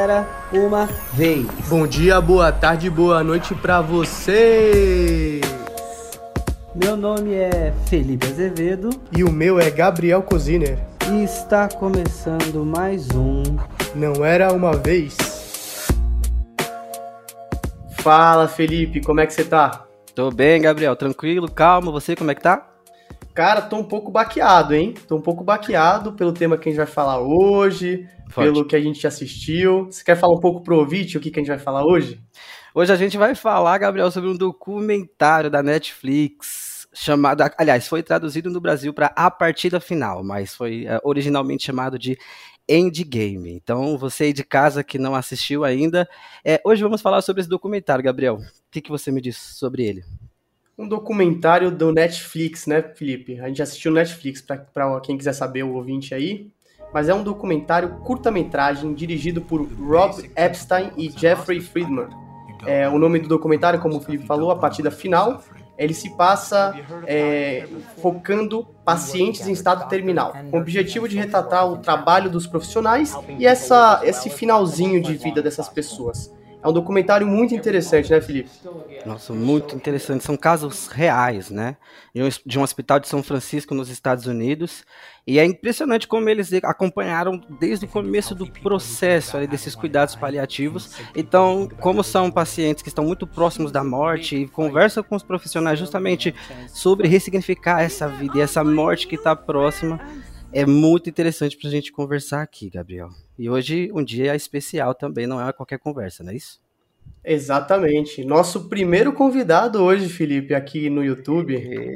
era uma vez. Bom dia, boa tarde, boa noite pra você. Meu nome é Felipe Azevedo. E o meu é Gabriel Coziner. E está começando mais um Não Era Uma Vez. Fala, Felipe, como é que você tá? Tô bem, Gabriel, tranquilo, calmo. Você, como é que tá? Cara, tô um pouco baqueado, hein? Tô um pouco baqueado pelo tema que a gente vai falar hoje, pelo que a gente assistiu. Você quer falar um pouco pro ouvinte o que a gente vai falar hoje? Hoje a gente vai falar, Gabriel, sobre um documentário da Netflix chamado... Aliás, foi traduzido no Brasil para A Partida Final, mas foi originalmente chamado de Endgame. Então, você aí de casa que não assistiu ainda, hoje vamos falar sobre esse documentário, Gabriel. O que você me diz sobre ele? Um documentário do Netflix, né, Felipe? A gente assistiu no Netflix, para quem quiser saber, o ouvinte aí. Mas é um documentário curta-metragem dirigido por Rob Epstein e Jeffrey Friedman. O nome do documentário, como o Felipe falou, A Partida Final, ele se passa focando pacientes em estado terminal, com o objetivo de retratar o trabalho dos profissionais e esse finalzinho de vida dessas pessoas. É um documentário muito interessante, né, Felipe? Nossa, muito interessante. São casos reais, né? De um hospital de São Francisco, nos Estados Unidos. E é impressionante como eles acompanharam desde o começo do processo ali, desses cuidados paliativos. Então, como são pacientes que estão muito próximos da morte e conversam com os profissionais justamente sobre ressignificar essa vida e essa morte que está próxima, é muito interessante para a gente conversar aqui, Gabriel. E hoje um dia especial também, não é qualquer conversa, não é isso? Exatamente. Nosso primeiro convidado hoje, Felipe, aqui no YouTube.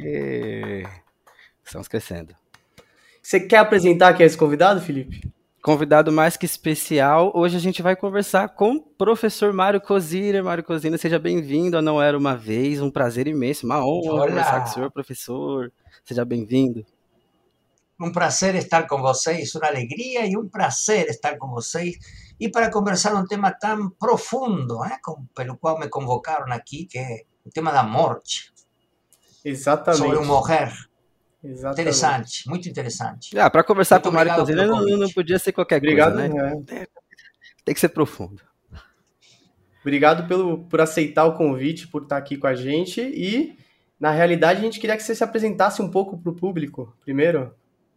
Estamos crescendo. Você quer apresentar quem é esse convidado, Felipe? Convidado mais que especial. Hoje a gente vai conversar com o professor Mário Coziner. Mário Coziner, seja bem-vindo a Não Era Uma Vez. Um prazer imenso, uma honra conversar com o senhor, professor. Seja bem-vindo. Um prazer estar com vocês, uma alegria e um prazer estar com vocês e para conversar um tema tão profundo, pelo qual me convocaram aqui, que é o tema da morte. Exatamente. Sobre o morrer. Exatamente. Interessante, muito interessante. Para conversar com o Mário Coziner não podia ser qualquer coisa, né? Tem que ser profundo. Obrigado por aceitar o convite, por estar aqui com a gente e, na realidade, a gente queria que você se apresentasse um pouco para o público, primeiro.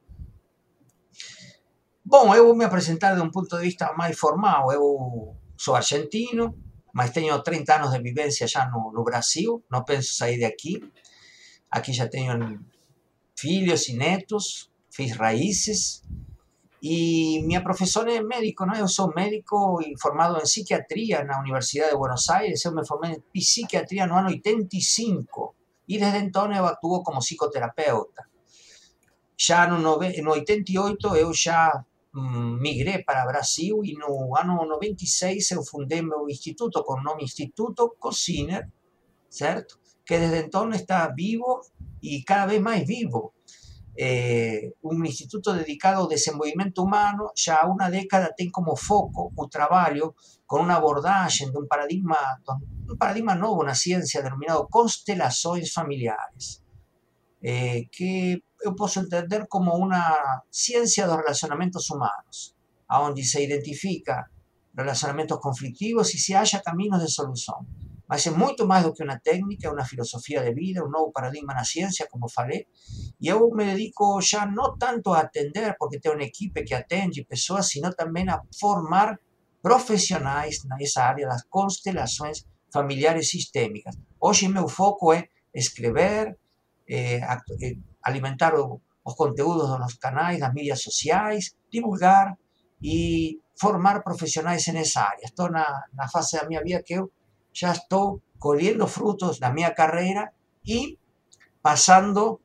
Bom, eu vou me apresentar de um ponto de vista mais formal. Eu sou argentino, mas tenho 30 anos de vivência já no Brasil, não penso sair daqui. Aqui já tenho filhos e netos, fiz raízes. E minha profissão é médico, não? Eu sou médico e formado em psiquiatria na Universidade de Buenos Aires. Eu me formei em psiquiatria no ano 85 e desde então eu atuo como psicoterapeuta. Já no 88 eu já migrei para o Brasil e no ano 96 eu fundei meu instituto com o nome Instituto Coziner, certo? Que desde então está vivo e cada vez mais vivo. Um instituto dedicado ao desenvolvimento humano, já há uma década tem como foco o trabalho com uma abordagem de um paradigma novo na ciência denominado constelações familiares, que eu posso entender como uma ciência dos relacionamentos humanos, onde se identifica relacionamentos conflitivos e se acha caminhos de solução. Mas é muito mais do que uma técnica, é uma filosofia de vida, um novo paradigma na ciência, como falei, e eu me dedico já não tanto a atender, porque tenho uma equipe que atende pessoas, sino também a formar profissionais nessa área das constelações familiares sistêmicas. Hoje meu foco é escrever, alimentar os conteúdos nos canais, nas mídias sociais, divulgar e formar profissionais nessa área. Estou na fase da minha vida que eu já estou colhendo frutos da minha carreira e passando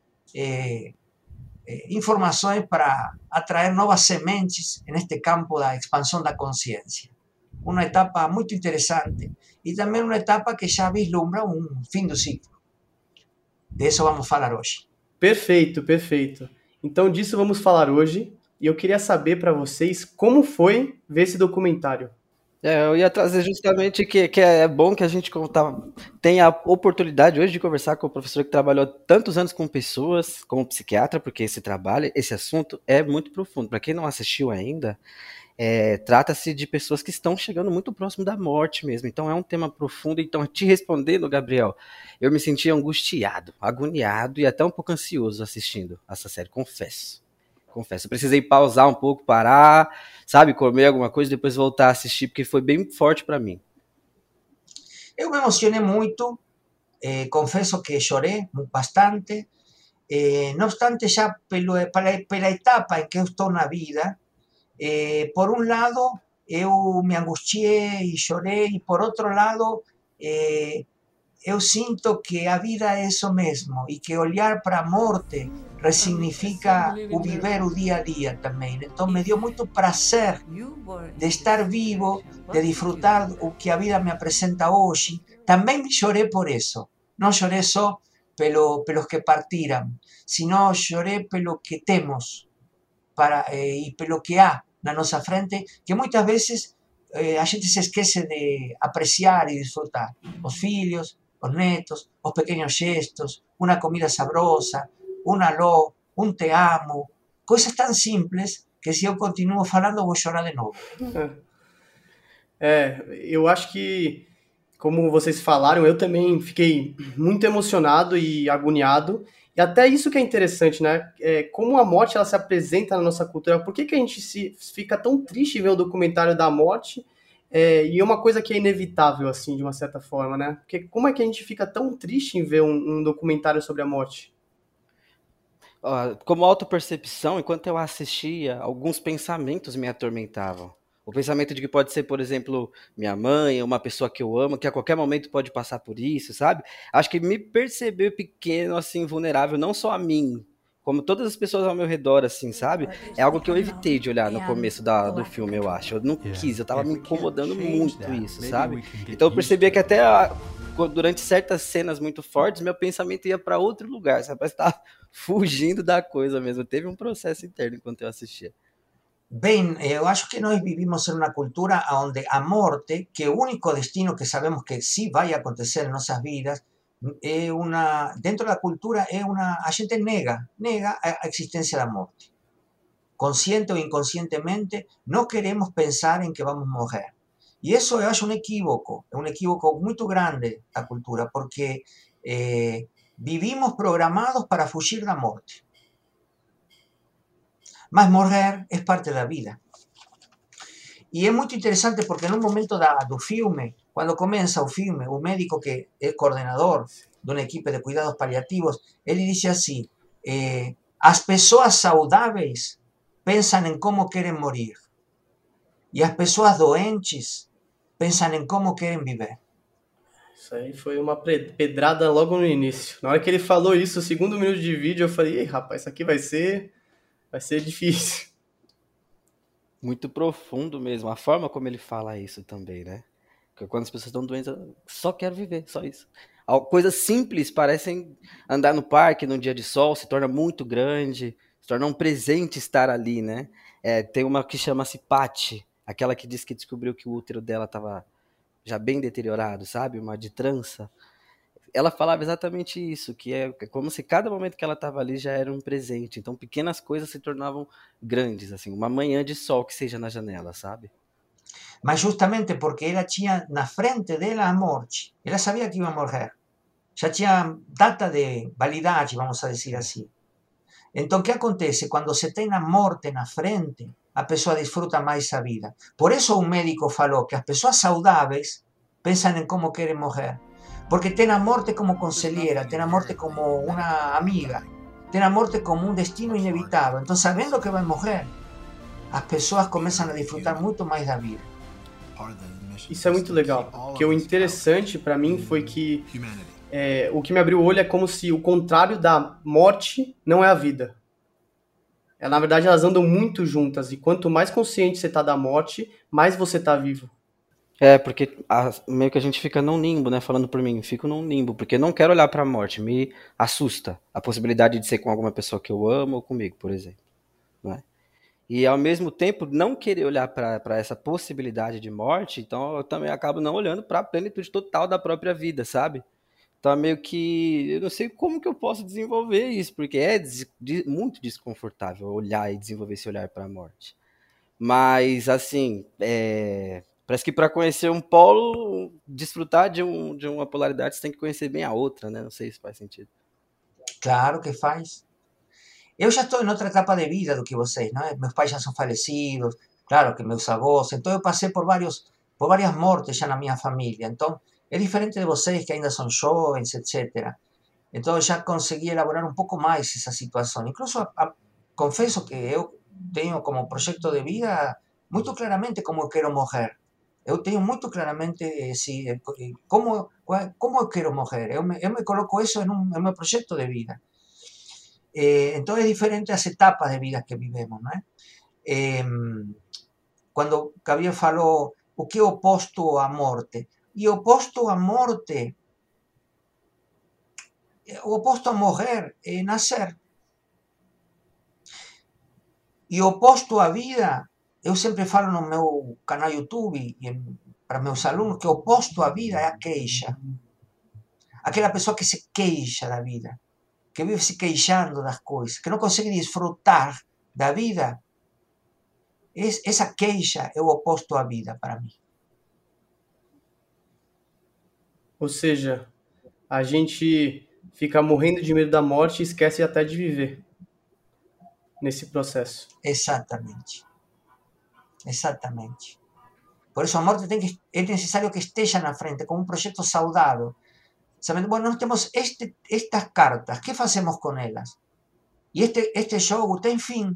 informações para atrair novas sementes neste campo da expansão da consciência. Uma etapa muito interessante e também uma etapa que já vislumbra um fim do ciclo. De isso vamos falar hoje. Perfeito, perfeito. Então disso vamos falar hoje e eu queria saber para vocês como foi ver esse documentário. Eu ia trazer justamente que é bom que a gente tenha a oportunidade hoje de conversar com o professor que trabalhou tantos anos com pessoas, como psiquiatra, porque esse assunto é muito profundo. Para quem não assistiu ainda, Trata-se de pessoas que estão chegando muito próximo da morte mesmo. Então é um tema profundo. Então, te respondendo, Gabriel, eu me senti angustiado, agoniado e até um pouco ansioso assistindo essa série, confesso. Eu precisei pausar um pouco, parar, sabe, comer alguma coisa e depois voltar a assistir, porque foi bem forte para mim. Eu me emocionei muito, confesso que chorei bastante, no obstante, já pela etapa em que eu estou na vida, por um lado, eu me angustiei e chorei, e por outro lado, eu sinto que a vida é isso mesmo e que olhar para a morte resignifica o viver o dia a dia também. Então me deu muito prazer de estar vivo, de disfrutar o que a vida me apresenta hoje. Também chorei por isso. Não chorei só pelos que partiram, sino chorei pelo que temos e pelo que há na nossa frente, que muitas vezes a gente se esquece de apreciar e disfrutar. Os filhos, os netos, os pequenos gestos, uma comida sabrosa, um alô, um te amo, coisas tão simples que se eu continuo falando vou chorar de novo. Eu acho que, como vocês falaram, eu também fiquei muito emocionado e agoniado. E até isso que é interessante, né? Como a morte ela se apresenta na nossa cultura. Por que a gente fica tão triste em ver o documentário da morte? E é uma coisa que é inevitável, assim, de uma certa forma, né? Porque como é que a gente fica tão triste em ver um documentário sobre a morte? Como autopercepção, enquanto eu assistia, alguns pensamentos me atormentavam. O pensamento de que pode ser, por exemplo, minha mãe, uma pessoa que eu amo, que a qualquer momento pode passar por isso, sabe? Acho que me perceber pequeno, assim, vulnerável, não só a mim, como todas as pessoas ao meu redor, assim, sabe? É algo que eu evitei de olhar no começo do filme, eu acho. Eu não quis, eu tava me incomodando muito isso, sabe? Então eu percebia que até durante certas cenas muito fortes, meu pensamento ia para outro lugar, sabe? Parece que tava fugindo da coisa mesmo. Teve um processo interno enquanto eu assistia. Bem, eu acho que nós vivimos em uma cultura onde a morte, que é o único destino que sabemos que sim vai acontecer em nossas vidas, dentro da cultura a gente nega a existência da morte. Consciente ou inconscientemente, não queremos pensar em que vamos morrer. E isso eu acho um equívoco muito grande da cultura, porque vivimos programados para fugir da morte. Mas morrer é parte da vida. E é muito interessante porque no momento do filme, quando começa o filme, o médico que é coordenador de uma equipe de cuidados paliativos, ele diz assim, as pessoas saudáveis pensam em como querem morir. E as pessoas doentes pensam em como querem viver. Isso aí foi uma pedrada logo no início. Na hora que ele falou isso, o segundo minuto de vídeo, eu falei, ei, rapaz, isso aqui vai ser difícil. Muito profundo mesmo. A forma como ele fala isso também, né? Porque quando as pessoas estão doentes, eu só quero viver, só isso. Coisas simples parecem andar no parque num dia de sol, se torna muito grande, se torna um presente estar ali, né? Tem uma que chama-se Patty, aquela que disse que descobriu que o útero dela estava já bem deteriorado, sabe? Uma de trança. Ela falava exatamente isso, que é como se cada momento que ela estava ali já era um presente. Então pequenas coisas se tornavam grandes, assim, uma manhã de sol que seja na janela, sabe? Mas justamente porque ela tinha na frente dela a morte. Ela sabia que ia morrer. Já tinha data de validade, vamos a dizer assim. Então, o que acontece? Quando se tem a morte na frente, a pessoa desfruta mais a vida. Por isso um médico falou que as pessoas saudáveis pensam em como querem morrer. Porque tem a morte como conselheira, tem a morte como uma amiga, tem a morte como um destino inevitável. Então, sabendo que vai morrer, as pessoas começam a desfrutar muito mais da vida. Isso é muito legal, porque o interessante para mim foi que o que me abriu o olho é como se o contrário da morte não é a vida. Na verdade, elas andam muito juntas, e quanto mais consciente você tá da morte, mais você tá vivo. Porque meio que a gente fica num limbo, né? Falando por mim, fico num limbo, porque não quero olhar pra morte, me assusta a possibilidade de ser com alguma pessoa que eu amo ou comigo, por exemplo. Não é? E ao mesmo tempo, não querer olhar para essa possibilidade de morte, então eu também acabo não olhando para a plenitude total da própria vida, sabe? Então é meio que, eu não sei como que eu posso desenvolver isso, porque é muito desconfortável olhar e desenvolver esse olhar para a morte. Mas, assim, parece que para conhecer um polo, desfrutar de uma polaridade, você tem que conhecer bem a outra, né? Não sei se faz sentido. Claro que faz. Eu já estou em outra etapa de vida do que vocês, não é? Meus pais já são falecidos, claro que meus avós, então eu passei por várias mortes já na minha família, então é diferente de vocês que ainda são jovens, etc. Então eu já consegui elaborar um pouco mais essa situação. Incluso confesso que eu tenho como projeto de vida muito claramente como eu quero morrer. Eu tenho muito claramente como eu quero morrer. Eu me coloco isso em meu projeto de vida. Então é diferente as etapas de vida que vivemos, não é? Quando Gabriel falou o que é oposto à morte, e oposto à morte, o oposto a morrer é nascer. E o oposto à vida, eu sempre falo no meu canal YouTube e para meus alunos que o oposto à vida é a queixa. Aquela pessoa que se queixa da vida, que vive se queixando das coisas, que não consegue desfrutar da vida. Essa queixa é o oposto à vida para mim. Ou seja, a gente fica morrendo de medo da morte e esquece até de viver nesse processo. Exatamente. Exatamente. Por isso a morte é necessário que esteja na frente, como um projeto saudável. Sabendo, bueno, nós temos estas cartas, que fazemos com elas? E este jogo tem fim.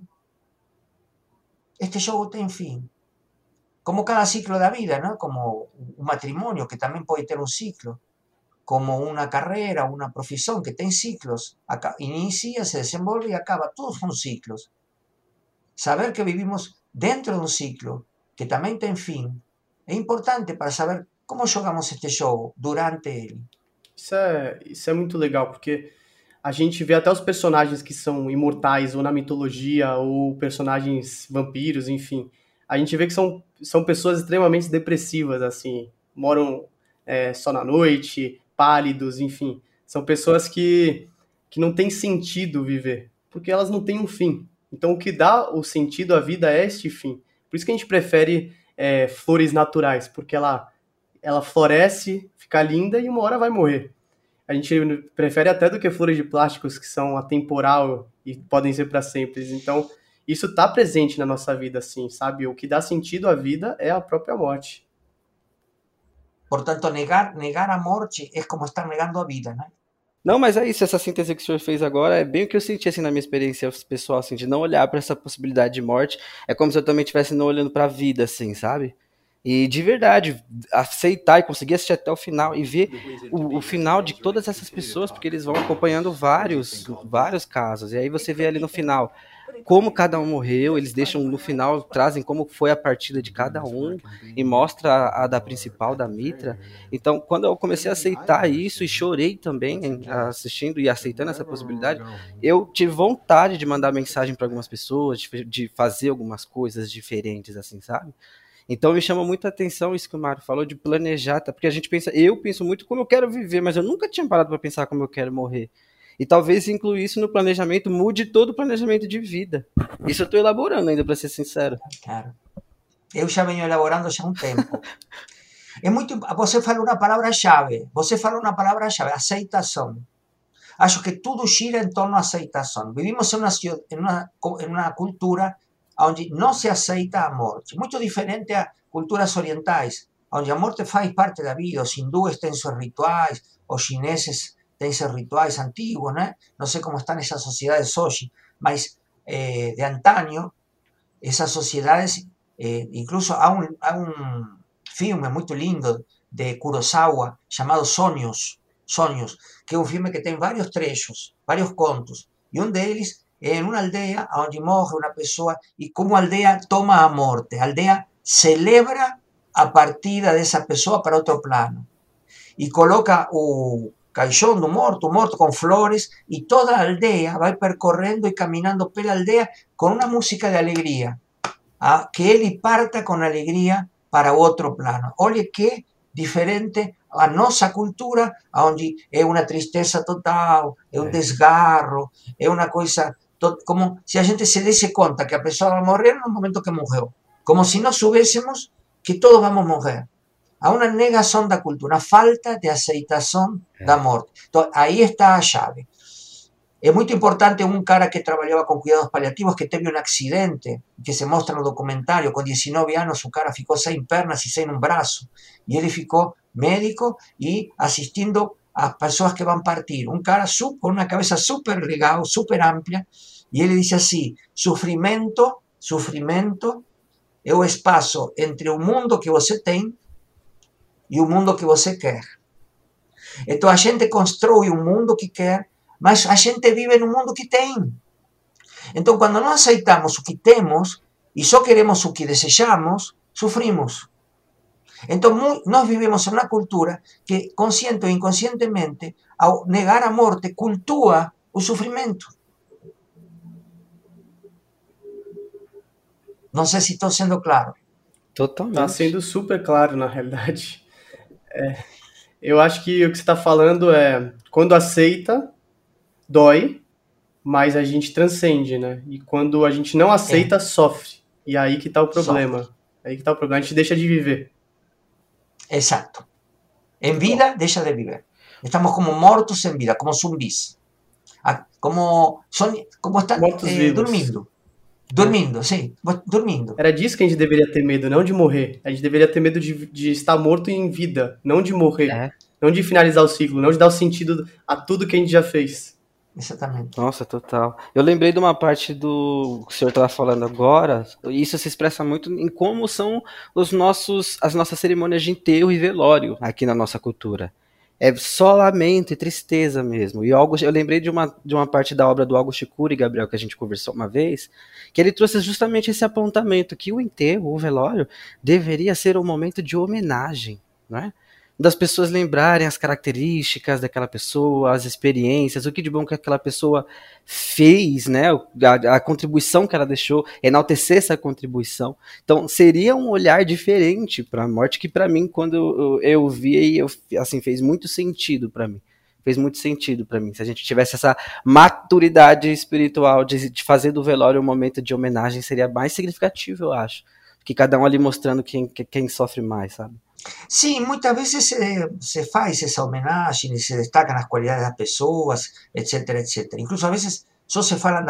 Este jogo tem fim. Como cada ciclo da vida, ¿no? Como un matrimonio que también puede tener un ciclo. Como una carrera, una profesión que tiene ciclos. Inicia, se desenvolve y acaba. Todos son ciclos. Saber que vivimos dentro de un ciclo que también tiene fin é importante para saber como jogamos este jogo durante ele. Isso é muito legal, porque a gente vê até os personagens que são imortais, ou na mitologia, ou personagens vampiros, enfim. A gente vê que são pessoas extremamente depressivas, assim, moram só na noite, pálidos, enfim. São pessoas que não tem sentido viver, porque elas não têm um fim. Então o que dá o sentido à vida é este fim. Por isso que a gente prefere flores naturais, porque ela floresce, fica linda e uma hora vai morrer. A gente prefere até do que flores de plásticos que são atemporal e podem ser para sempre. Então, isso está presente na nossa vida, assim, sabe? O que dá sentido à vida é a própria morte. Portanto, negar a morte é como estar negando a vida, né? Não, mas é isso, essa síntese que o senhor fez agora é bem o que eu senti assim na minha experiência pessoal, assim, de não olhar para essa possibilidade de morte. É como se eu também estivesse não olhando para a vida, assim, sabe? E de verdade, aceitar e conseguir assistir até o final e ver o final de todas essas pessoas, porque eles vão acompanhando vários casos. E aí você vê ali no final como cada um morreu, eles deixam no final, trazem como foi a partida de cada um e mostra a da principal, da Mitra. Então, quando eu comecei a aceitar isso e chorei também assistindo e aceitando essa possibilidade, eu tive vontade de mandar mensagem para algumas pessoas, de fazer algumas coisas diferentes, assim, sabe? Então me chama muita atenção isso que o Mário falou de planejar, tá? Porque eu penso muito como eu quero viver, mas eu nunca tinha parado para pensar como eu quero morrer. E talvez incluir isso no planejamento mude todo o planejamento de vida. Isso eu estou elaborando ainda, para ser sincero. Claro. Eu já venho elaborando já há um tempo. É muito. Você falou uma palavra-chave. Aceitação. Acho que tudo gira em torno à aceitação. Vivimos em uma cultura onde não se aceita a morte. Muito diferente a culturas orientais, onde a morte faz parte da vida. Os hindúes têm seus rituais, os chineses têm seus rituais antigos, né? Não sei como estão essas sociedades hoje, mas de antaño, essas sociedades, incluso há um filme muito lindo de Kurosawa chamado Sonhos, que é um filme que tem vários trechos, vários contos, e um deles en una aldea onde morre una pessoa e como a aldea toma a morte. A aldea celebra a partida dessa pessoa para outro plano e coloca o caixão do morto com flores e toda a aldea vai percorrendo e caminhando pela aldea com uma música de alegria, que ele parta com alegria para outro plano. Olha que diferente a nossa cultura, onde é uma tristeza total, é um desgarro, é uma coisa como se a gente se desse conta que a pessoa vai morrer no momento que morreu. como si no supiésemos que todos vamos a morrer. A una negación da cultura, una falta de aceitación da morte. Entonces, ahí está a llave. Es muy importante un cara que trabajaba con cuidados paliativos que teve un accidente, que se muestra en el documentario, con 19 años su cara ficou sem pernas y sem un brazo. Y él ficou médico y asistiendo a personas que van a partir. Un cara con una cabeza súper legal, súper amplia. Y él dice así, sufrimento é o espaço entre o mundo que você tem e o mundo que você quer. Então a gente constrói um mundo que quer, mas a gente vive no mundo que tem. Então quando não aceitamos o que temos e só queremos o que desejamos, sufrimos. Então nós vivemos em uma cultura que, consciente ou inconscientemente, ao negar a morte, cultua o sofrimento. Não sei se estou sendo claro. Totalmente. Tá sendo super claro, na realidade. Eu acho que o que você está falando é, quando aceita, dói, mas a gente transcende, né? E quando a gente não aceita, sofre. E aí que tá o problema. Sofre. Aí que tá o problema. A gente deixa de viver. Exato. En vida, deixa de viver. Estamos como mortos en vida, como zumbis. Como están dormindo. Dormindo, sim, dormindo. Era disso que a gente deveria ter medo, não de morrer. A gente deveria ter medo de estar morto em vida, não de morrer. Não de finalizar o ciclo, não de dar o sentido a tudo que a gente já fez. Exatamente. Nossa, total. Eu lembrei de uma parte do que o senhor estava falando agora, e isso se expressa muito em como são as nossas cerimônias de enterro e velório aqui na nossa cultura. É só lamento e tristeza mesmo. E eu lembrei de uma parte da obra do Augusto Cury, Gabriel, que a gente conversou uma vez, que ele trouxe justamente esse apontamento, que o enterro, o velório, deveria ser um momento de homenagem, não é? Das pessoas lembrarem as características daquela pessoa, as experiências, o que de bom que aquela pessoa fez, né? A contribuição que ela deixou, enaltecer essa contribuição. Então, seria um olhar diferente para a morte, que para mim, quando eu vi, assim, fez muito sentido para mim. Fez muito sentido para mim. Se a gente tivesse essa maturidade espiritual de fazer do velório um momento de homenagem, seria mais significativo, eu acho. Que cada um ali mostrando quem sofre mais, sabe? Sim, muitas vezes se faz essa homenagem e se destacam as qualidades das pessoas, etc, etc. Incluso a vezes só se falam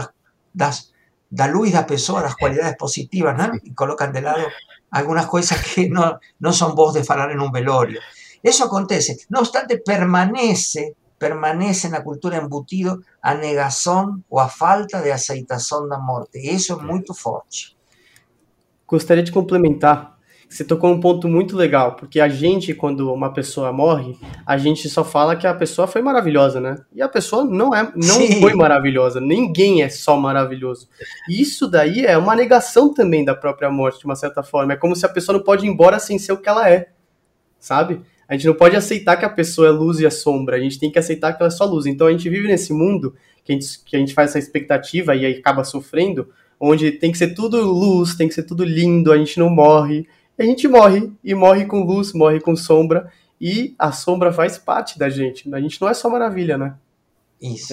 da luz da pessoa, das qualidades positivas, né? E colocam de lado algumas coisas que não são boas de falar em um velório. Isso acontece. No obstante, permanece na cultura embutido a negação ou a falta de aceitação da morte. E isso é muito forte. Gostaria de complementar. Você tocou um ponto muito legal, porque a gente, quando uma pessoa morre, a gente só fala que a pessoa foi maravilhosa, né? E a pessoa não foi maravilhosa, ninguém é só maravilhoso. E isso daí é uma negação também da própria morte, de uma certa forma. É como se a pessoa não pode ir embora sem ser o que ela é, sabe? A gente não pode aceitar que a pessoa é luz e é sombra, a gente tem que aceitar que ela é só luz. Então a gente vive nesse mundo que a gente faz essa expectativa e aí acaba sofrendo, onde tem que ser tudo luz, tem que ser tudo lindo, a gente não morre. E a gente morre, e morre com luz, morre com sombra, e a sombra faz parte da gente. A gente não é só maravilha, né? Isso.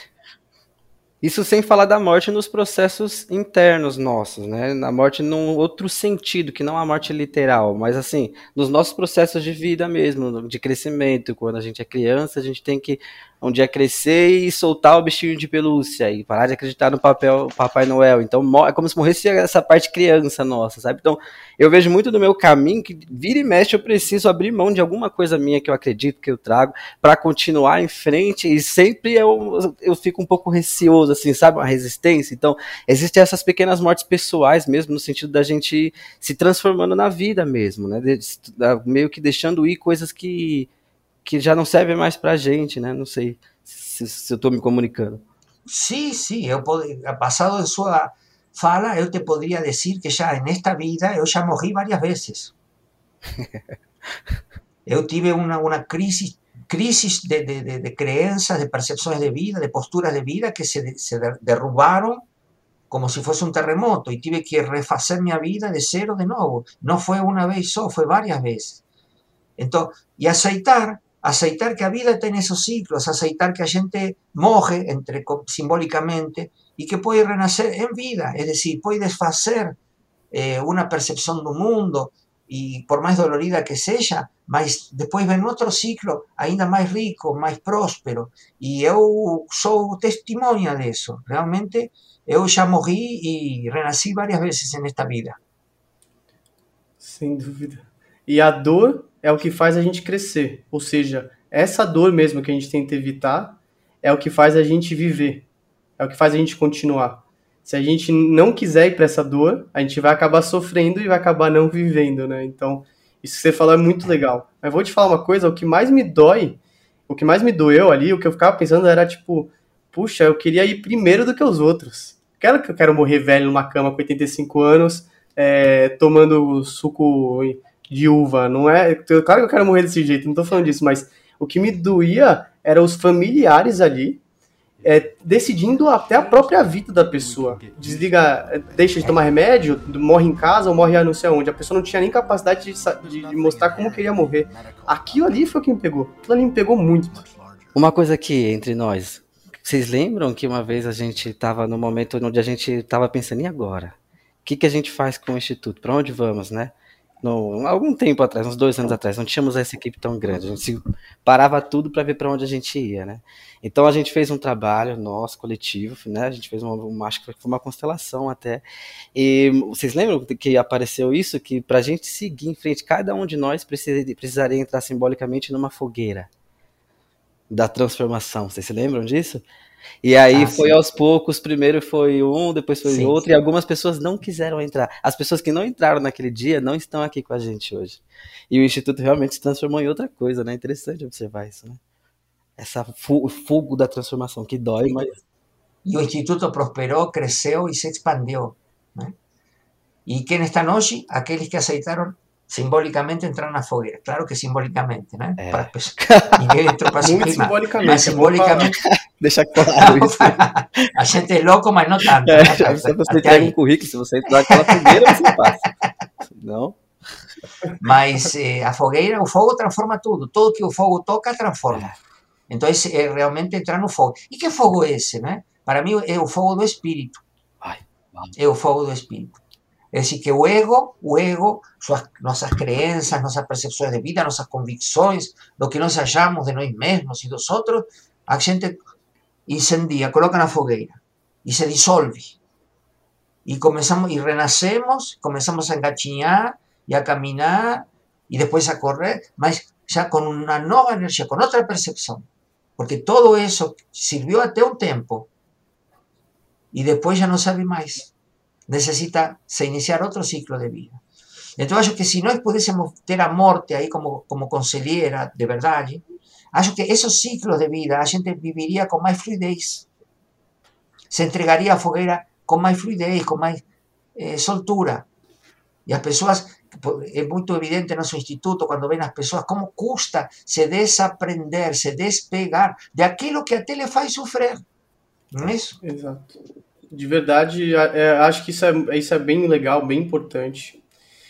Isso sem falar da morte nos processos internos nossos, né? Na morte num outro sentido, que não a morte literal, mas assim, nos nossos processos de vida mesmo, de crescimento. Quando a gente é criança, a gente tem que um dia crescer e soltar o bichinho de pelúcia e parar de acreditar no Papai Noel. Então é como se morresse essa parte criança nossa, sabe? Então eu vejo muito do meu caminho que vira e mexe eu preciso abrir mão de alguma coisa minha que eu acredito, que eu trago, para continuar em frente, e sempre eu fico um pouco receoso, assim, sabe? Uma resistência. Então existem essas pequenas mortes pessoais mesmo, no sentido da gente se transformando na vida mesmo, né? Meio que deixando ir coisas que já não servem mais pra gente, né? Não sei se eu estou me comunicando. Sim, basado em sua fala, eu te poderia dizer que já nesta vida eu já morri várias vezes. Eu tive uma crise de crenças, de percepções de vida, de posturas de vida que se derrubaram como se fosse um terremoto e tive que refazer minha vida de zero de novo. Não foi uma vez só, foi várias vezes. Então, e aceitar que a vida tem esses ciclos, aceitar que a gente morre, simbolicamente, e que pode renascer em vida, é decir, pode desfazer una percepción do mundo, y por más dolorida que seja, mas depois vem outro ciclo ainda mais rico, mais próspero, e eu sou testemunha disso. Realmente, eu já morri e renasci várias vezes nesta vida. Sem dúvida. E a dor é o que faz a gente crescer. Ou seja, essa dor mesmo que a gente tenta evitar é o que faz a gente viver. É o que faz a gente continuar. Se a gente não quiser ir para essa dor, a gente vai acabar sofrendo e vai acabar não vivendo, né? Então, isso que você falou é muito legal. Mas vou te falar uma coisa, o que mais me doeu ali, o que eu ficava pensando era tipo, puxa, eu queria ir primeiro do que os outros. Claro que eu quero morrer velho numa cama com 85 anos, tomando suco de uva, não é? Claro que eu quero morrer desse jeito, não tô falando disso, mas o que me doía eram os familiares ali, decidindo até a própria vida da pessoa. Desliga, deixa de tomar remédio, morre em casa ou morre não sei onde. A pessoa não tinha nem capacidade de mostrar como queria morrer. Aquilo ali foi o que me pegou. Aquilo ali me pegou muito. Uma coisa aqui entre nós. Vocês lembram que uma vez a gente estava no momento onde a gente estava pensando, e agora? O que a gente faz com o Instituto? Para onde vamos, né? Algum tempo atrás, uns 2 anos atrás, não tínhamos essa equipe tão grande, a gente parava tudo para ver para onde a gente ia, né? Então a gente fez um trabalho nosso, coletivo, né? A gente fez acho que foi uma constelação até, e vocês lembram que apareceu isso, que para a gente seguir em frente, cada um de nós precisaria entrar simbolicamente numa fogueira da transformação, vocês se lembram disso? E aí foi aos poucos, primeiro foi um, depois foi outro, e algumas pessoas não quiseram entrar. As pessoas que não entraram naquele dia não estão aqui com a gente hoje. E o Instituto realmente se transformou em outra coisa, né? Interessante observar isso, né? O fogo da transformação, que dói, mas... E o Instituto prosperou, cresceu e se expandiu, né? E quem estão hoje? Aqueles que aceitaram simbolicamente entrar na fogueira. Claro que simbolicamente, né? Para as pessoas. Ninguém entrou para se Muito queimar. simbolicamente. Mas simbolicamente... Deixa claro isso. A gente é louco, mas não tanto. Se você entrega um currículo, se você entrar naquela fogueira, você passa. Não? Mas a fogueira, o fogo transforma tudo. Tudo que o fogo toca, transforma. Então, é realmente entrar no fogo. E que fogo é esse, né? Para mim, é o fogo do espírito. É o fogo do espírito. É decir, que o ego, nossas crenças, nossas percepções de vida, nossas convicções, do que nós achamos de nós mesmos e dos outros, a gente incendia, coloca na fogueira e se dissolve. E começamos, e renascemos, começamos a engatinhar e a caminhar e depois a correr, mas já com uma nova energia, com outra percepção. Porque todo isso serviu até um tempo e depois já não serve mais. Necesita se iniciar outro ciclo de vida. Então, acho que se nós pudéssemos ter a morte aí como conselheira de verdade, acho que esses ciclos de vida a gente viveria com mais fluidez. Se entregaria à fogueira com mais fluidez, com mais soltura. E as pessoas, é muito evidente no nosso instituto, quando vem as pessoas, como custa se desaprender, se despegar de aquilo que até lhe faz sofrer. Não é isso? Exato. De verdade, acho que isso é bem legal, bem importante.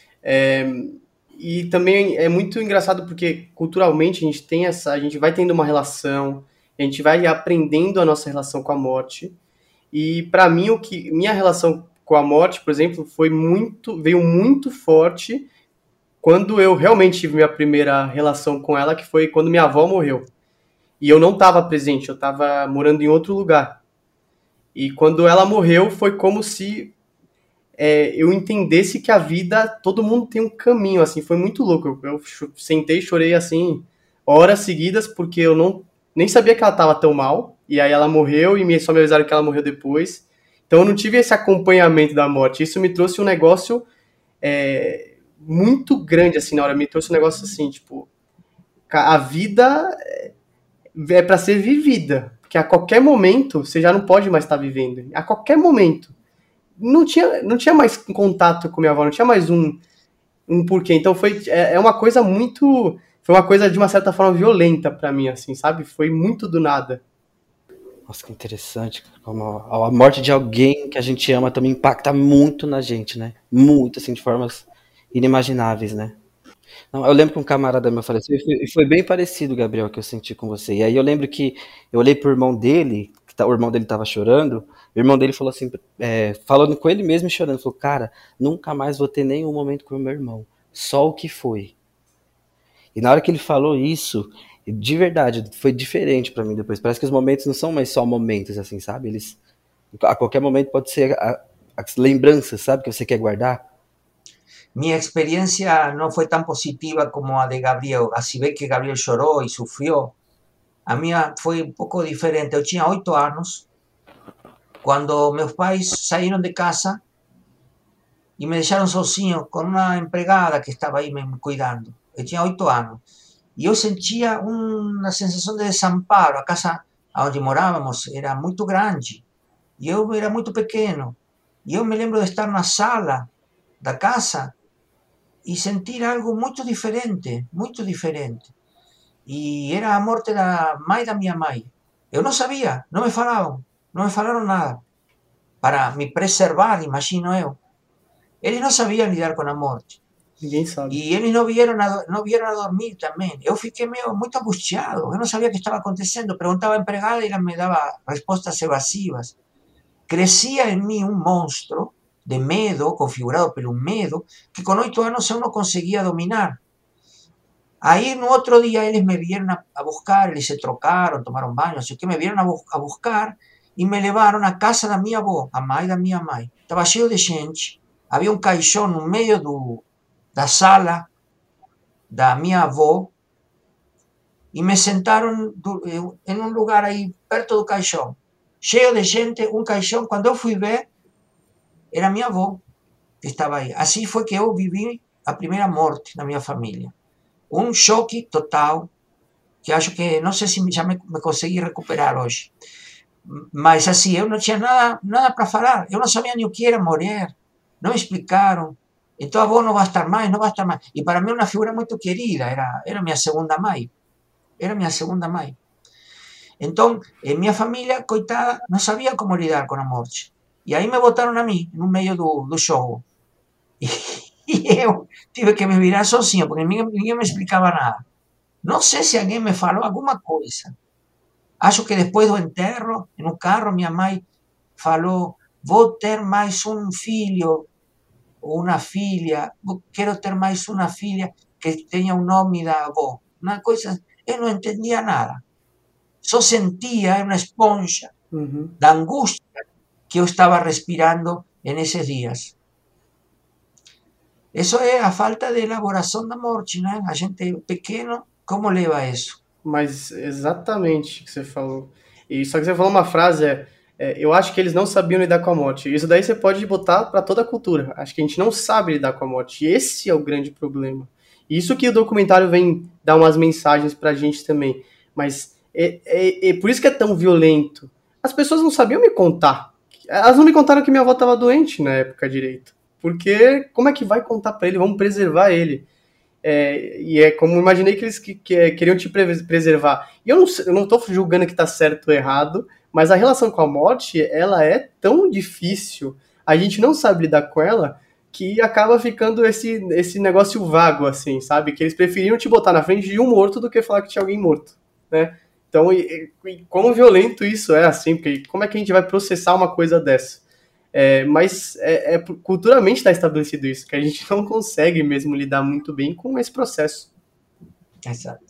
E também é muito engraçado porque culturalmente a gente vai tendo uma relação, a gente vai aprendendo a nossa relação com a morte. E para mim, minha relação com a morte, por exemplo, veio muito forte quando eu realmente tive minha primeira relação com ela, que foi quando minha avó morreu. E eu não estava presente, eu estava morando em outro lugar. E quando ela morreu, foi como se eu entendesse que a vida, todo mundo tem um caminho, assim, foi muito louco. Eu sentei e chorei, assim, horas seguidas, porque eu nem sabia que ela estava tão mal, e aí ela morreu, e só me avisaram que ela morreu depois. Então eu não tive esse acompanhamento da morte. Isso me trouxe um negócio muito grande, assim, na hora. Me trouxe um negócio assim, tipo, a vida é para ser vivida. Porque a qualquer momento, você já não pode mais estar vivendo. A qualquer momento. Não tinha mais contato com minha avó, não tinha mais um porquê. Então foi uma coisa muito... Foi uma coisa, de uma certa forma, violenta pra mim, assim, sabe? Foi muito do nada. Nossa, que interessante. Como a morte de alguém que a gente ama também impacta muito na gente, né? Muito, assim, de formas inimagináveis, né? Não, eu lembro que um camarada meu faleceu e foi bem parecido, Gabriel, que eu senti com você. E aí eu lembro que eu olhei pro irmão dele, o irmão dele tava chorando, o irmão dele falou assim, falando com ele mesmo e chorando, falou, cara, nunca mais vou ter nenhum momento com o meu irmão, só o que foi. E na hora que ele falou isso, de verdade, foi diferente pra mim depois. Parece que os momentos não são mais só momentos, assim, sabe? Eles, a qualquer momento pode ser as lembranças, sabe, que você quer guardar. Mi experiencia no fue tan positiva como a de Gabriel. Así ve que Gabriel lloró y sufrió. A mía fue un pouco diferente. Eu tinha 8 anos quando meus pais saíram de casa e me deixaram sozinho com uma empregada que estava aí me cuidando. Eu tinha 8 anos. E eu sentia uma sensação de desamparo. A casa onde morávamos era muito grande e eu era muito pequeno. E eu me lembro de estar na sala da casa e sentir algo muito diferente, muito diferente. E era a morte da mãe da minha mãe. Eu não sabia, não me falaram nada. Para me preservar, imagino eu. Eles não sabiam lidar com a morte. Ninguém sabe. E eles não vieram a dormir também. Eu fiquei muito angustiado, eu não sabia o que estava acontecendo. Perguntava à empregada e ela me dava respostas evasivas. Crescia em mim um monstro de medo, configurado pelo medo, que com 8 anos eu não conseguia dominar. Aí no outro dia eles me vieram a buscar, eles se trocaram, tomaram banho, así que me vieram a buscar e me levaram à casa da minha avó, a mãe da minha mãe. Estava cheio de gente, havia um caixão no meio da sala da minha avó e me sentaram em um lugar aí perto do caixão, cheio de gente, um caixão. Quando eu fui ver, era minha avó que estava aí. Assim foi que eu vivi a primeira morte na minha família. Um choque total, que acho que não sei se já me consegui recuperar hoje. Mas assim, eu não tinha nada para falar. Eu não sabia nem o que era morrer. Não me explicaram. Então a avó não vai estar mais, não vai estar mais. E para mim uma figura muito querida, era minha segunda mãe. Era minha segunda mãe. Então, minha família, coitada, não sabia como lidar com a morte. E aí me botaram a mim, no meio do jogo. E eu tive que me virar sozinho, porque ninguém me explicava nada. Não sei se alguém me falou alguma coisa. Acho que depois do enterro, no carro, minha mãe falou: vou ter mais um filho ou uma filha, quero ter mais uma filha que tenha o nome da avó. Uma coisa, eu não entendia nada. Só sentia uma esponja da angústia que eu estava respirando nesses dias. Isso é a falta de elaboração da morte, né? A gente pequeno, como leva isso? Mas exatamente o que você falou. E só que você falou uma frase, eu acho que eles não sabiam lidar com a morte. Isso daí você pode botar para toda a cultura. Acho que a gente não sabe lidar com a morte. E esse é o grande problema. Isso que o documentário vem dar umas mensagens pra gente também. Mas por isso que é tão violento. As pessoas não sabiam me contar. Elas não me contaram que minha avó estava doente na época direito. Porque como é que vai contar para ele? Vamos preservar ele. E é como imaginei que eles queriam te preservar. E eu não estou julgando que está certo ou errado, mas a relação com a morte, ela é tão difícil, a gente não sabe lidar com ela, que acaba ficando esse negócio vago, assim, sabe? Que eles preferiam te botar na frente de um morto do que falar que tinha alguém morto, né? Então, quão violento isso é, assim, porque como é que a gente vai processar uma coisa dessa? Mas culturalmente está estabelecido isso, que a gente não consegue mesmo lidar muito bem com esse processo. Exato.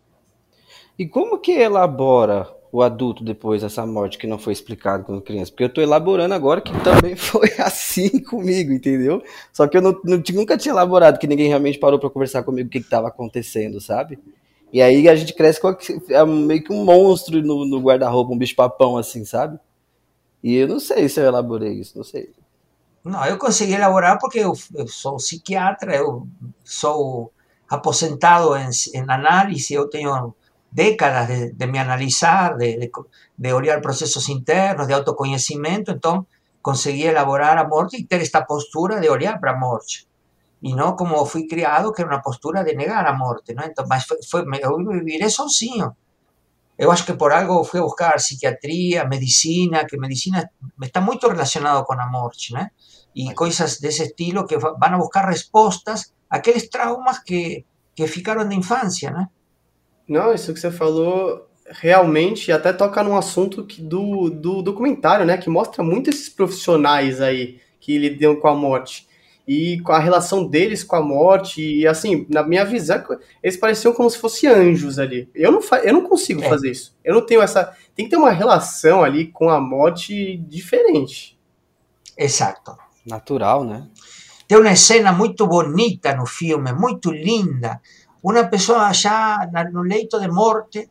E como que elabora o adulto depois dessa morte que não foi explicado quando criança? Porque eu tô elaborando agora que também foi assim comigo, entendeu? Só que eu nunca tinha elaborado, que ninguém realmente parou para conversar comigo o que estava acontecendo, sabe? E aí a gente cresce com meio que um monstro no guarda-roupa, um bicho-papão assim, sabe? E eu não sei se eu elaborei isso, não sei. Não, eu consegui elaborar porque eu sou psiquiatra, eu sou aposentado em análise, eu tenho décadas de me analisar, de olhar processos internos, de autoconhecimento, então consegui elaborar a morte e ter esta postura de olhar para a morte. E não como fui criado, que era uma postura de negar a morte, não? Então, mas eu me virei sozinho. Eu acho que por algo fui a buscar psiquiatria, medicina, que medicina está muito relacionado com a morte, né? E coisas desse estilo que vão a buscar respostas àqueles traumas que ficaram da infância, né? Não, isso que você falou realmente até toca num assunto do documentário, né? Que mostra muito esses profissionais aí que lidam com a morte. E com a relação deles com a morte. E assim, na minha visão, eles pareciam como se fossem anjos ali. Eu não consigo É, fazer isso. Eu não tenho essa. Tem que ter uma relação ali com a morte diferente. exacto. Natural, né? Tem uma cena muito bonita no filme, muito linda. Uma pessoa já no leito de morte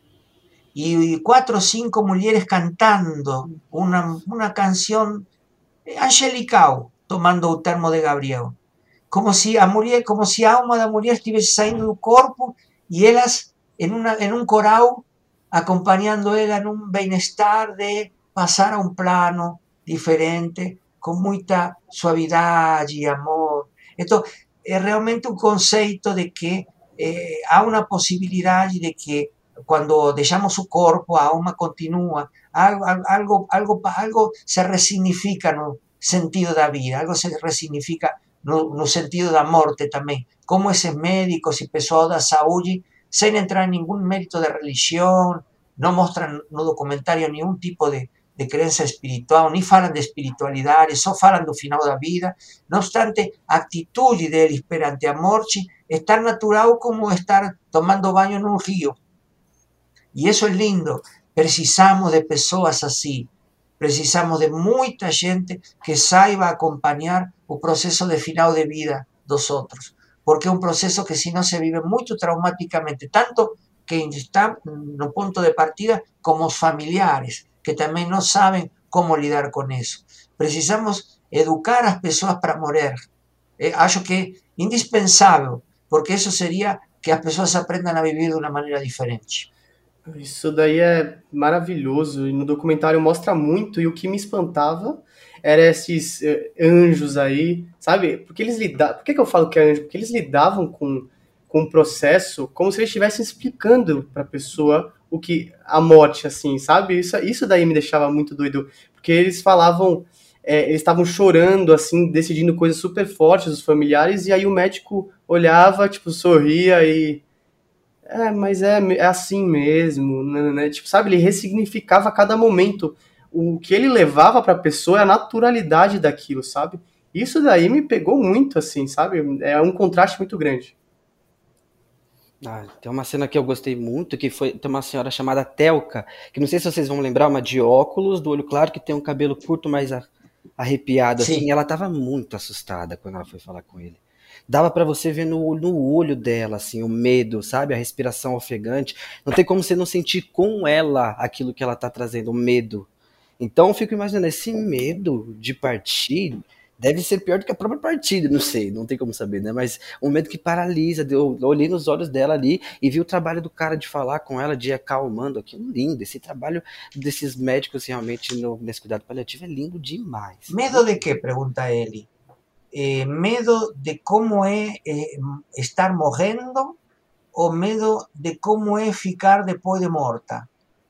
y 4 o 5 mujeres cantando una canción angelical, tomando el termo de Gabriel. Como si a alma da mulher estivesse saindo do corpo e elas en un coral acompañando ela en un bienestar de pasar a un plano diferente, con mucha suavidad y amor. Esto es realmente un conceito de que há una posibilidad de que cuando dejamos su corpo, a alma continúa, algo se resignifica no sentido da vida, algo se resignifica no sentido da morte também. Como esses médicos e pessoal da saúde, sem entrar em nenhum mérito de religião, não mostram no documentário nenhum tipo de crença espiritual, nem falam de espiritualidade, só falam do final da vida. Não obstante, a atitude deles perante a morte é tão natural como estar tomando banho num rio. E isso é lindo. Precisamos de pessoas assim. Precisamos de muita gente que saiba acompanhar o processo de final de vida dos outros. Porque é um processo que, se não, se vive muito traumaticamente, tanto quem está no ponto de partida como os familiares, que também não sabem como lidar com isso. Precisamos educar as pessoas para morrer. Acho que é indispensável, porque isso seria que as pessoas aprendam a viver de uma maneira diferente. Isso daí é maravilhoso, e no documentário mostra muito, e o que me espantava era esses anjos aí, sabe? Porque eles lidavam. Por que eu falo que é anjo? Porque eles lidavam com o processo como se eles estivessem explicando para a pessoa o que a morte, assim, sabe? Isso daí me deixava muito doido, porque eles falavam, eles estavam chorando, assim, decidindo coisas super fortes, os familiares, e aí o médico olhava, tipo, sorria e mas é assim mesmo, né? Tipo, sabe, ele ressignificava a cada momento. O que ele levava pra pessoa é a naturalidade daquilo, sabe? Isso daí me pegou muito, assim, sabe? É um contraste muito grande. Tem uma cena que eu gostei muito, tem uma senhora chamada Telka, que não sei se vocês vão lembrar, uma de óculos, do olho claro, que tem um cabelo curto, mais arrepiado, assim. Ela tava muito assustada quando ela foi falar com ele. Dava pra você ver no olho dela, assim, o medo, sabe? A respiração ofegante. Não tem como você não sentir com ela aquilo que ela tá trazendo, o medo. Então eu fico imaginando, esse medo de partir deve ser pior do que a própria partida, não sei, não tem como saber, né? Mas um medo que paralisa. Eu olhei nos olhos dela ali e vi o trabalho do cara de falar com ela, de ir acalmando. Aquilo lindo. Esse trabalho desses médicos realmente nesse cuidado paliativo é lindo demais. Medo de quê? Pergunta ele. Medo de como é estar morrendo ou medo de como é ficar depois de morta?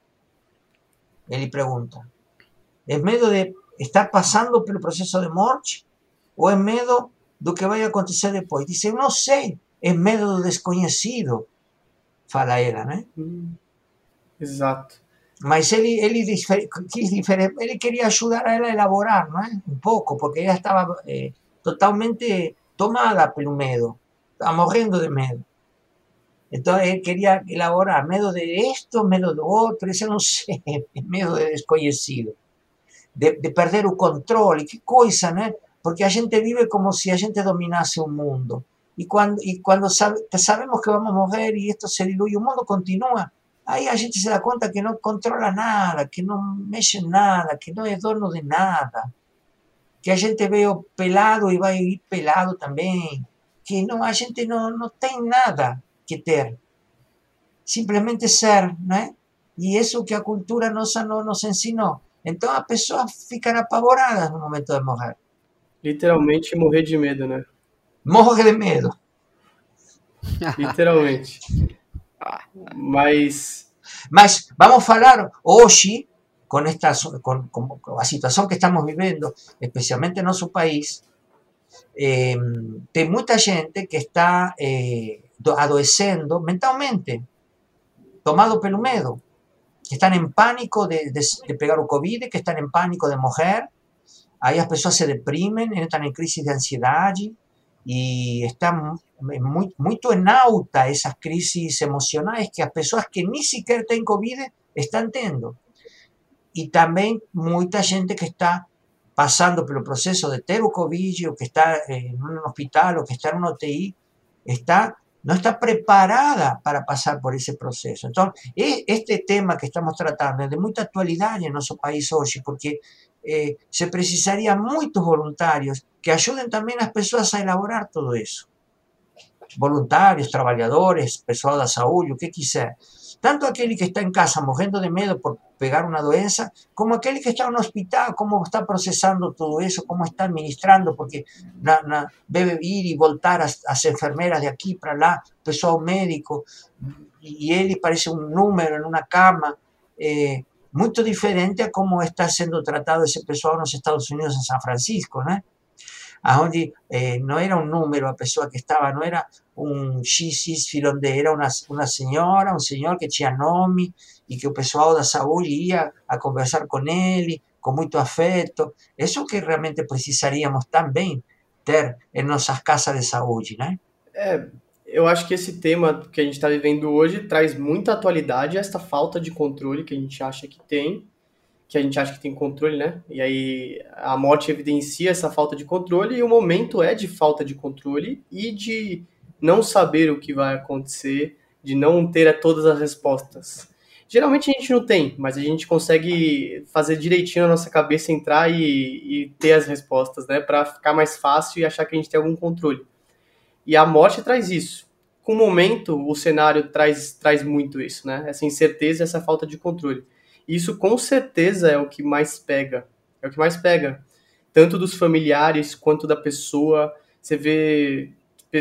Ele pergunta. É medo de estar passando pelo processo de morte ou é medo do que vai acontecer depois? Diz, eu não sei, é medo do desconhecido, fala ela, né? Exato. Mas ele queria ajudar a ela a elaborar, não é? Um pouco, porque ela estava totalmente tomada pelo medo, estaba morrendo de medo. Entonces él quería elaborar medo de esto, medo do outro, esse eu não sei, medo de desconhecido, de perder o controle, que coisa, né? Porque a gente vive como se a gente dominasse o mundo. E quando sabemos que vamos morrer e isto se dilui, o mundo continua, aí a gente se dá conta que não controla nada, que não mexe em nada, que não é dono de nada. Que a gente veio pelado e vai ir pelado também, que não, a gente não tem nada que ter, simplesmente ser, né? E isso que a cultura nossa não nos ensinou. Então as pessoas ficam apavoradas no momento de morrer. Literalmente morrer de medo, né? Morre de medo. Literalmente. Mas vamos falar hoje, com a situação que estamos vivendo, especialmente em nosso país, tem muita gente que está adoecendo mentalmente, tomado pelo medo. que estão em pânico de pegar o Covid, que estão em pânico de morrer. Aí as pessoas se deprimem, entram em crise de ansiedade e estão muito em alta essas crises emocionais que as pessoas que nem sequer têm Covid estão tendo. E também muita gente que está passando pelo processo de ter o Covid, ou que está em um hospital, ou que está em uma UTI, no está preparada para pasar por ese proceso. Entonces, este tema que estamos tratando es de mucha actualidad en nuestro país hoy, porque se precisarían muchos voluntarios que ayuden también a las personas a elaborar todo eso. Voluntarios, trabajadores, pessoal da saúde, o que quiser. Tanto aquele que está em casa morrendo de medo por pegar uma doença, como aquele que está no hospital, como está processando tudo isso, como está administrando, porque deve ir e voltar as enfermeiras de aqui para lá, pessoal médico, e ele parece um número em uma cama, muito diferente a como está sendo tratado esse pessoal nos Estados Unidos, em São Francisco, né? Onde não era um número a pessoa que estava, não era um XY, era uma senhora, um senhor que tinha nome e que o pessoal da saúde ia a conversar com ele, com muito afeto. Isso que realmente precisaríamos também ter em nossas casas de saúde, né? Eu acho que esse tema que a gente está vivendo hoje traz muita atualidade a essa falta de controle que a gente acha que tem controle, né? E aí a morte evidencia essa falta de controle e o momento é de falta de controle e de não saber o que vai acontecer, de não ter todas as respostas. Geralmente a gente não tem, mas a gente consegue fazer direitinho na nossa cabeça, entrar e ter as respostas, né? Para ficar mais fácil e achar que a gente tem algum controle. E a morte traz isso. Com o momento, o cenário traz muito isso, né? Essa incerteza e essa falta de controle. Isso com certeza é o que mais pega. É o que mais pega. Tanto dos familiares quanto da pessoa. Você vê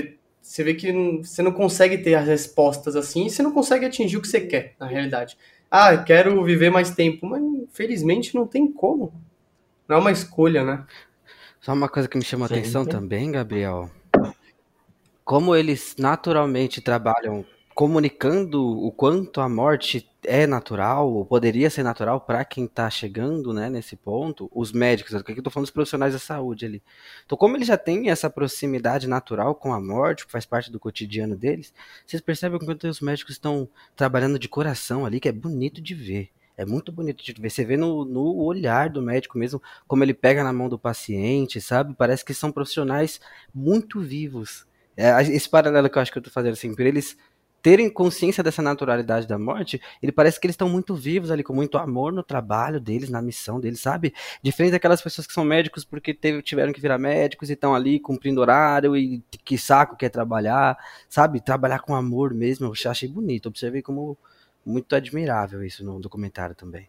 que você não consegue ter as respostas assim e você não consegue atingir o que você quer, na realidade. Eu quero viver mais tempo, mas infelizmente não tem como. Não é uma escolha, né? Só uma coisa que me chamou a atenção também, Gabriel. Como eles naturalmente trabalham comunicando o quanto a morte é natural, ou poderia ser natural para quem está chegando, né, nesse ponto, os médicos, aqui eu estou falando dos profissionais da saúde ali. Então, como eles já têm essa proximidade natural com a morte, que faz parte do cotidiano deles, vocês percebem quanto os médicos estão trabalhando de coração ali, que é bonito de ver. É muito bonito de ver. Você vê no olhar do médico mesmo, como ele pega na mão do paciente, sabe? Parece que são profissionais muito vivos. Esse paralelo que eu acho que eu estou fazendo assim, por eles terem consciência dessa naturalidade da morte, ele parece que eles estão muito vivos ali, com muito amor no trabalho deles, na missão deles, sabe? Diferente daquelas pessoas que são médicos porque tiveram que virar médicos e estão ali cumprindo horário e que saco quer trabalhar, sabe? Trabalhar com amor mesmo, eu achei bonito, observei como muito admirável isso no documentário também.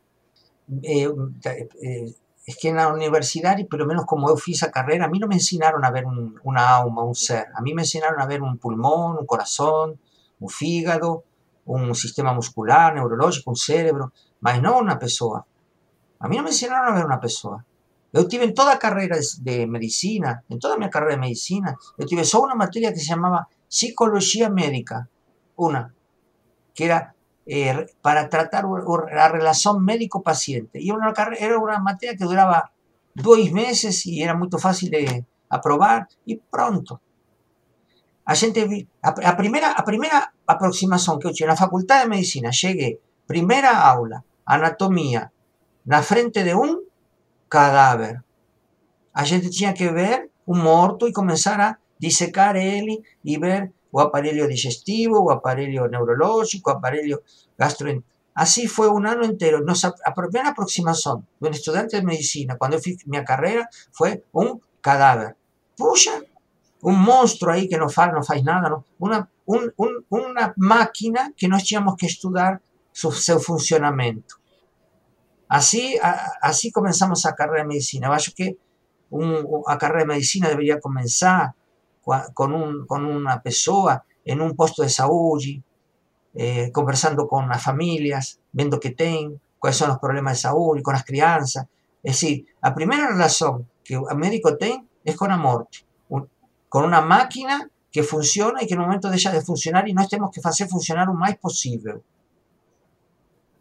Es que en la universidad, y por lo menos como yo fiz a carrera, a mí no me enseñaron a ver una alma, un ser. A mí me enseñaron a ver un pulmón, un corazón, un fígado, un sistema muscular, neurológico, un cerebro, mas no una pessoa. A mí no me enseñaron a ver una pessoa. Yo tuve en toda carrera de medicina, en toda mi carrera de medicina, yo tuve solo una materia que se llamaba psicología médica, que era para tratar la relación médico-paciente. Y era una materia que duraba 2 meses y era muy fácil de aprobar y pronto. A primeira aproximação que eu tinha na faculdade de medicina, cheguei, primeira aula, anatomia, na frente de um cadáver. A gente tinha que ver o morto e começar a dissecar ele e ver o aparelho digestivo, o aparelho neurológico, o aparelho gastroenterológico. Assim foi um ano inteiro. A primeira aproximação de um estudante de medicina, quando eu fiz minha carreira, foi um cadáver. Puxa, um monstro aí que não faz nada, não? Uma máquina que nós tínhamos que estudar seu funcionamento. Assim começamos a carreira de medicina. Eu acho que a carreira de medicina deveria começar com uma pessoa em um posto de saúde, conversando com as famílias, vendo o que tem, quais são os problemas de saúde, com as crianças. É decir, a primeira relação que o médico tem é com a morte, com uma máquina que funciona e que no momento deixa de funcionar e nós temos que fazer funcionar o mais possível.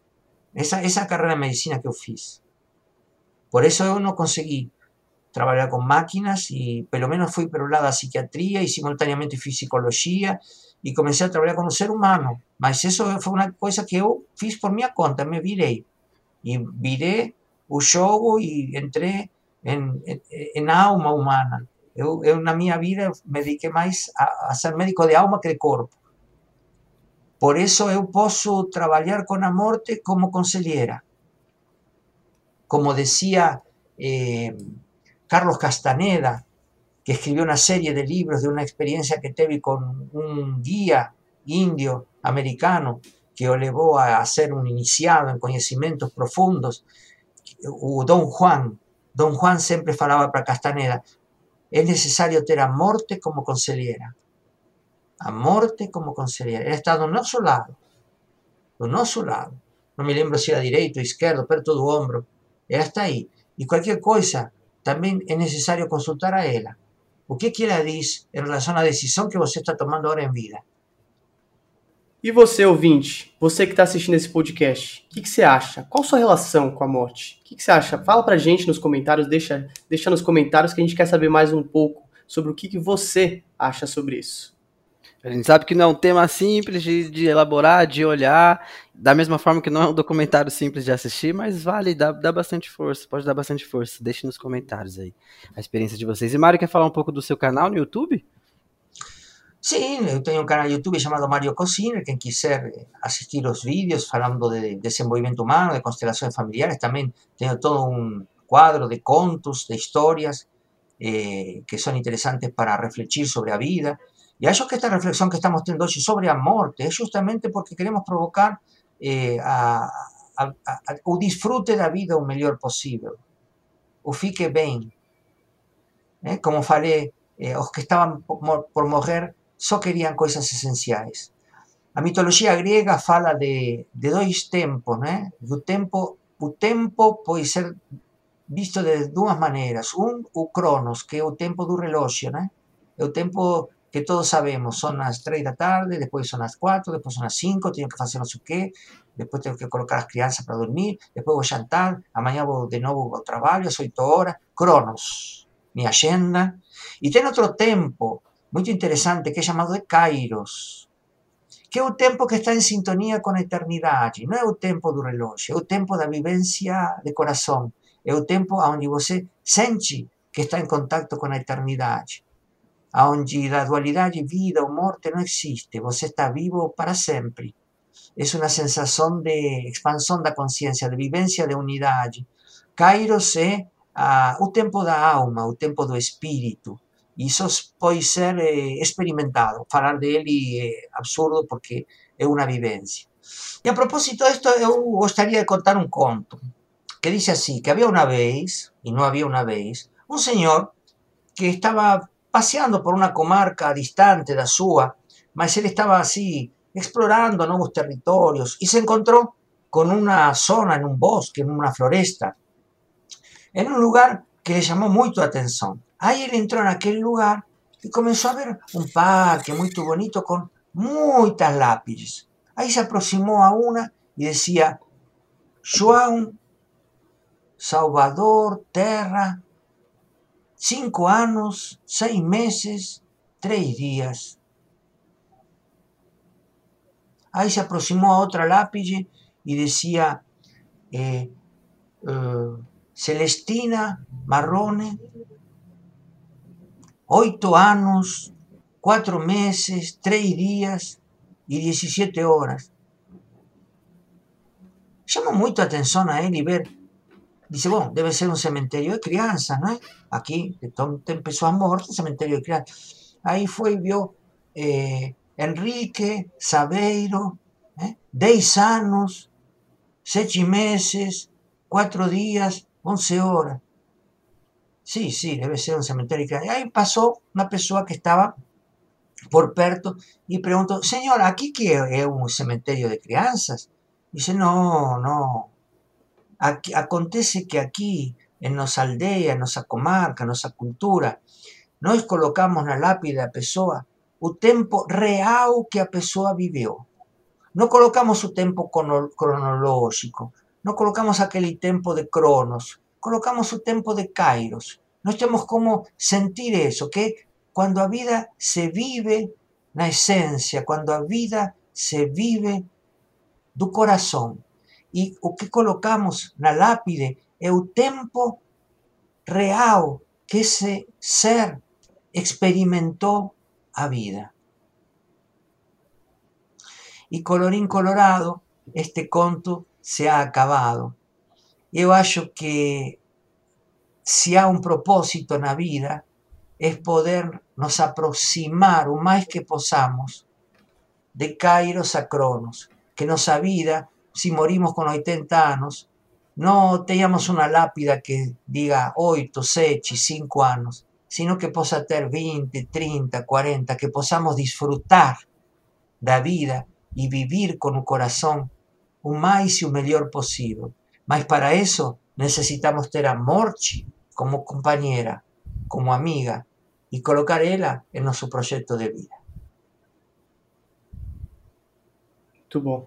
essa carreira de medicina que eu fiz. Por eso eu não consegui trabalhar com máquinas e pelo menos fui para o lado da psiquiatria e simultaneamente fiz psicologia e comecei a trabalhar com o ser humano. Mas isso foi uma coisa que eu fiz por minha conta, me virei. E virei o jogo e entrei em alma humana. Eu, na minha vida, me dediquei mais a ser médico de alma que de corpo. Por isso eu posso trabalhar com a morte como conselheira. Como decía Carlos Castaneda, que escribió una serie de libros de una experiencia que tuve con un guía indio americano que lo llevó a ser un iniciado en conocimientos profundos, Don Juan siempre falaba para Castaneda, es necesario tener a morte como conselheira. A morte como conselheira. Ele está do nosso lado. Do nosso lado. Não me lembro se era direito ou esquerdo, perto do ombro. Ela está aí. E qualquer coisa, também é necessário consultar a ela. O que ela diz em relação à decisão que você está tomando agora em vida? E você, ouvinte, você que está assistindo esse podcast, o que você acha? Qual a sua relação com a morte? O que você acha? Fala pra gente nos comentários, deixa nos comentários que a gente quer saber mais um pouco sobre o que você acha sobre isso. A gente sabe que não é um tema simples de elaborar, de olhar, da mesma forma que não é um documentário simples de assistir, mas vale, dá bastante força, pode dar bastante força. Deixe nos comentários aí a experiência de vocês. E Mário, quer falar um pouco do seu canal no YouTube? Sim, eu tenho um canal no YouTube chamado Mário Cocina, quem quiser assistir os vídeos falando de desenvolvimento humano, de constelações familiares, também tenho todo um quadro de contos, de histórias que são interessantes para refletir sobre a vida. Y acho que esta reflexión que estamos teniendo hoy sobre a morte es justamente porque queremos provocar o disfrute da vida o melhor possível. O fique bem. Como falei, os que estavam por morrer só queriam coisas essenciais. A mitologia grega fala de dois tempos, né? O tempo pode ser visto de duas maneiras. O Cronos, que é o tempo do relógio, né? É o tempo que todos sabemos, son las 3 da tarde, después son las 4, después son las 5, tengo que hacer no sé qué, después tengo que colocar as crianças para dormir, después vou jantar, amanhã vou de novo ao trabalho, às 8 horas, Cronos, minha agenda. E tem outro tempo muito interessante que é chamado de Kairos, que é o tempo que está em sintonia com a eternidade, não é o tempo do relógio, é o tempo da vivência de coração, é o tempo onde você sente que está em contato com a eternidade, onde a dualidade vida ou morte não existe, você está vivo para sempre. É uma sensação de expansão da consciência, de vivência de unidade. Kairos é o tempo da alma, o tempo do espírito. Isso pode ser experimentado. Falar dele é absurdo porque é uma vivência. E a propósito disto, eu gostaria de contar um conto que diz assim, que havia uma vez, e não havia uma vez, um senhor que estava paseando por una comarca distante da sua, mas ele estaba así explorando nuevos territorios y se encontró con una zona en un bosque, en una floresta, en un lugar que le llamó mucho la atención. Ahí él entró en aquel lugar y comenzó a ver un parque muy bonito con muchas lápices. Ahí se aproximó a una y decía, João Salvador Terra, 5 anos, 6 meses, 3 dias. Aí se aproximou a outra lápide e dizia Celestina Marrone, 8 anos, 4 meses, 3 dias e 17 horas. Chama muito a atenção a ele ver. Dice, bom, deve ser um cemitério de crianças, não é? Aqui tem pessoas mortas, cemitério de crianças. Aí foi e viu Henrique Saveiro, 10 anos, 7 meses, 4 dias, 11 horas. Sí, debe ser um cemitério de crianças. Aí passou uma pessoa que estava por perto e perguntou, senhora, aqui que é um cemitério de crianças? Dice, não. Aquí, acontece que aquí, en nossa aldeia, en nossa comarca, en nossa cultura, nós colocamos na lápide da pessoa o tempo real que a pessoa viveu. não colocamos o tempo cronológico, não colocamos aquele tempo de Cronos, colocamos o tempo de Kairos. Nós temos como sentir isso, que quando a vida se vive na essência, quando a vida se vive do coração. E o que colocamos na lápide é o tempo real que esse ser experimentou a vida. E colorín colorado, este conto se ha acabado. Eu acho que se há um propósito na vida, é poder nos aproximar o mais que possamos de Kairos a Cronos. Que nossa vida, se morimos com 80 anos, não tenhamos uma lápida que diga 8, 7, 5 anos, sino que possa ter 20, 30, 40, que possamos disfrutar da vida e viver com o coração o mais e o melhor possível. Mas para isso necessitamos ter a morte como companheira, como amiga, e colocar ela em nosso projeto de vida. Muito bom.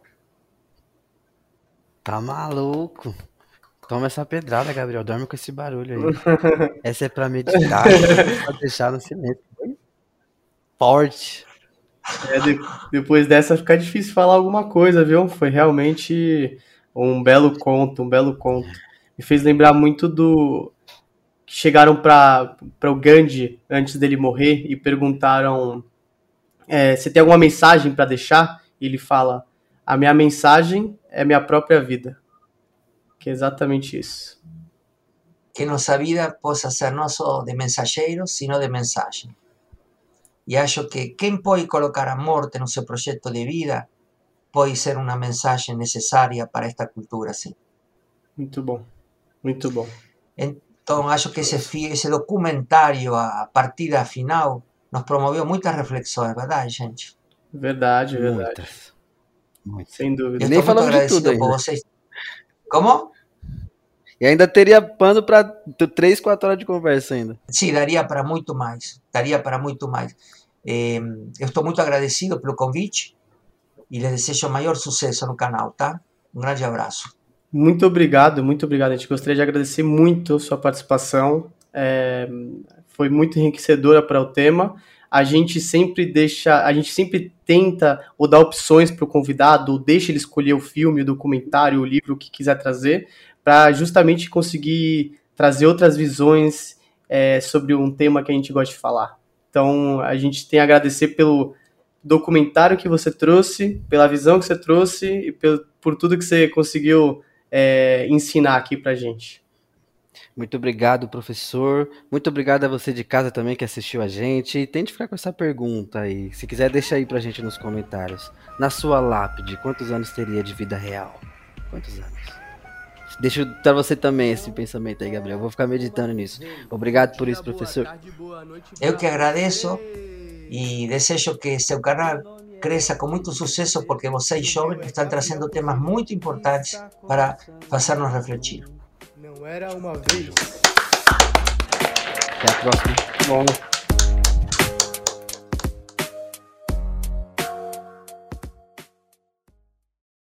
Tá maluco? Toma essa pedrada, Gabriel. Dorme com esse barulho aí. Essa é pra meditar, pra deixar no silêncio. Forte. Depois dessa fica difícil falar alguma coisa, viu? Foi realmente um belo conto, um belo conto. Me fez lembrar muito do... que chegaram para o Gandhi antes dele morrer e perguntaram se tem alguma mensagem para deixar. E ele fala, a minha mensagem é minha própria vida. Que é exatamente isso. Que nossa vida possa ser não só de mensageiros, sino de mensagem. E acho que quem pode colocar a morte no seu projeto de vida pode ser uma mensagem necessária para esta cultura, sim. Muito bom, muito bom. Então, acho que esse documentário, a partida final, nos promoveu muitas reflexões, verdade, gente? Verdade. Muitas. Sem dúvida. E nem falamos de tudo por vocês. Como? E ainda teria pano para 3, 4 horas de conversa ainda. Sim, daria para muito mais. Eu estou muito agradecido pelo convite e lhes desejo o maior sucesso no canal, tá? Um grande abraço. Muito obrigado. A gente gostaria de agradecer muito a sua participação. Foi muito enriquecedora para o tema. A gente sempre tenta ou dar opções para o convidado, ou deixa ele escolher o filme, o documentário, o livro, o que quiser trazer, para justamente conseguir trazer outras visões sobre um tema que a gente gosta de falar. Então, a gente tem a agradecer pelo documentário que você trouxe, pela visão que você trouxe e por tudo que você conseguiu ensinar aqui pra gente. Muito obrigado, professor. Muito obrigado a você de casa também que assistiu a gente. E tente ficar com essa pergunta aí. Se quiser, deixa aí pra gente nos comentários. Na sua lápide, quantos anos teria de vida real? Quantos anos? Deixa pra você também esse pensamento aí, Gabriel. Vou ficar meditando nisso. Obrigado por isso, professor. Eu que agradeço e desejo que seu canal cresça com muito sucesso, porque vocês jovens estão trazendo temas muito importantes para fazer-nos refletir. Não era uma vez. Até a próxima. Bom.